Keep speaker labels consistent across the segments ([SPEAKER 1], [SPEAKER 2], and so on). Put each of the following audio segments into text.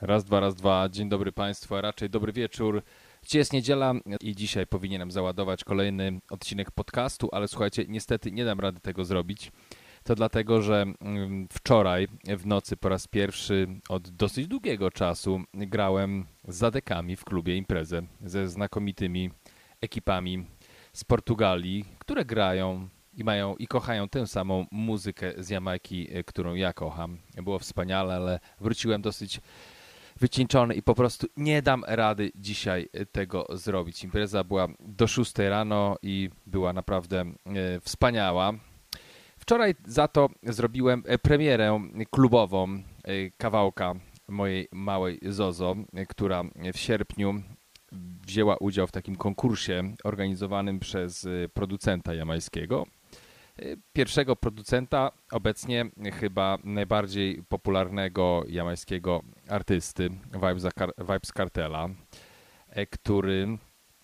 [SPEAKER 1] Raz, dwa. Dzień dobry Państwu, a raczej dobry wieczór. Dzisiaj jest niedziela i dzisiaj powinienem załadować kolejny odcinek podcastu, ale słuchajcie, niestety nie dam rady tego zrobić. To dlatego, że wczoraj w nocy po raz pierwszy od dosyć długiego czasu grałem z Zadekami w klubie imprezę ze znakomitymi ekipami z Portugalii, które grają i kochają tę samą muzykę z Jamajki, którą ja kocham. Było wspaniale, ale wróciłem dosyć wycieńczony i po prostu nie dam rady dzisiaj tego zrobić. Impreza była do 6 rano i była naprawdę wspaniała. Wczoraj za to zrobiłem premierę klubową kawałka mojej małej Zozo, która w sierpniu wzięła udział w takim konkursie organizowanym przez producenta jamańskiego. Pierwszego producenta, obecnie chyba najbardziej popularnego jamańskiego artysty, Vybz Kartela, który,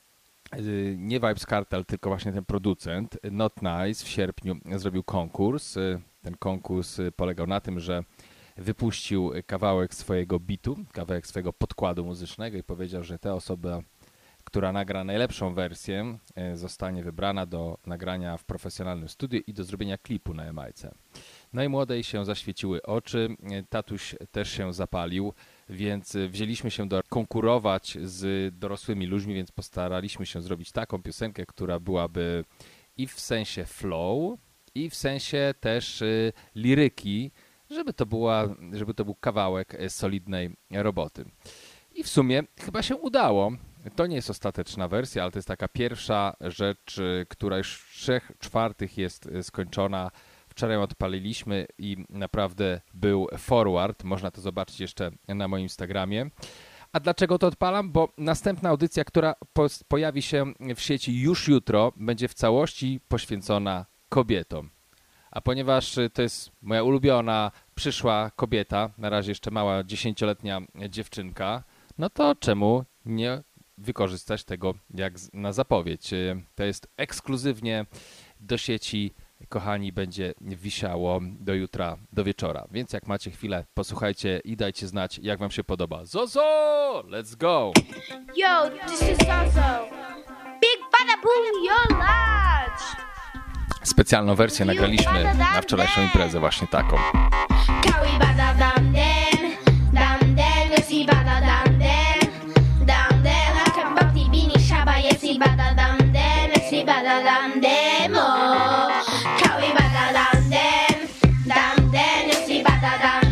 [SPEAKER 1] nie Vybz Kartel, tylko właśnie ten producent, Not Nice, w sierpniu zrobił konkurs. Ten konkurs polegał na tym, że wypuścił kawałek swojego bitu, kawałek swojego podkładu muzycznego i powiedział, że ta osoba, która nagra najlepszą wersję, zostanie wybrana do nagrania w profesjonalnym studiu i do zrobienia klipu na Jamajce. No i młodej się zaświeciły oczy, tatuś też się zapalił, więc wzięliśmy się konkurować z dorosłymi ludźmi, więc postaraliśmy się zrobić taką piosenkę, która byłaby i w sensie flow, i w sensie też liryki, żeby to był kawałek solidnej roboty. I w sumie chyba się udało. To nie jest ostateczna wersja, ale to jest taka pierwsza rzecz, która już w 3/4 jest skończona. Wczoraj odpaliliśmy i naprawdę był forward. Można to zobaczyć jeszcze na moim Instagramie. A dlaczego to odpalam? Bo następna audycja, która pojawi się w sieci już jutro, będzie w całości poświęcona kobietom. A ponieważ to jest moja ulubiona przyszła kobieta, na razie jeszcze mała 10-letnia dziewczynka, no to czemu nie wykorzystać tego jak na zapowiedź. To jest ekskluzywnie do sieci, kochani, będzie wisiało do jutra, do wieczora. Więc jak macie chwilę, posłuchajcie i dajcie znać, jak wam się podoba. Zozo! Let's go!
[SPEAKER 2] Yo, this is Zozo. Big bada boom, your lodge.
[SPEAKER 1] Specjalną wersję nagraliśmy na wczorajszą imprezę, właśnie taką.
[SPEAKER 2] Kawi bada dam den, yesi bada dam den, hakan bakti bini shaba, yesi bada dam den, yesi bada dam den, oh. Kawi bada dam den, yesi bada dam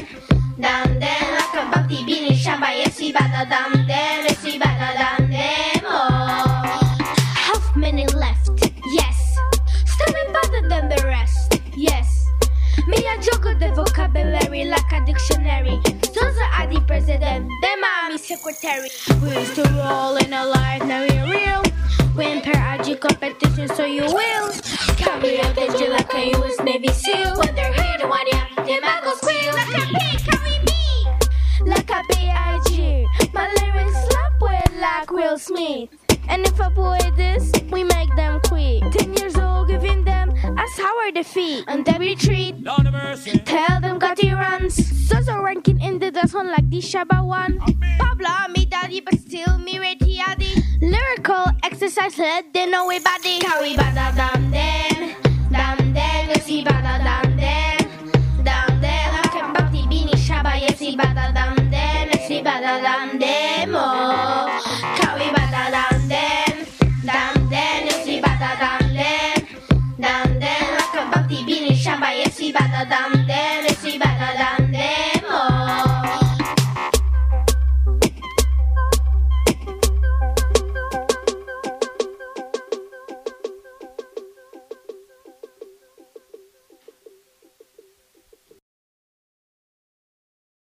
[SPEAKER 2] den, hakan bakti bini shaba, yesi bada dam den, yesi bada dam den, oh. Half minute left, yes. Still better than the rest, yes. Me I juggle the vocabulary like a dictionary. Those are the president, them are me secretary. We used to roll in a life, now we're real. We enter RG competition, so you will. Carry out the G like a US Navy SEAL. When they're here to want ya, them I go squeal. Like a pig, carry me. Like a B.I.G. My lyrics slap with like Will Smith. And if I boy this, we make them quit. 10 years old, giving them a sour defeat. And they retreat.
[SPEAKER 3] Lord of mercy.
[SPEAKER 2] Tell them got the runs. Sozo ranking in the dance one like the Shabba one. Pablo, me daddy, but still me ready addy. Lyrical exercise, let them know we body. Kawi bada dam den, yesi bada dam den. Hakan bakti bini Shabba, yesi bada dam den, yesi bada dam den, oh.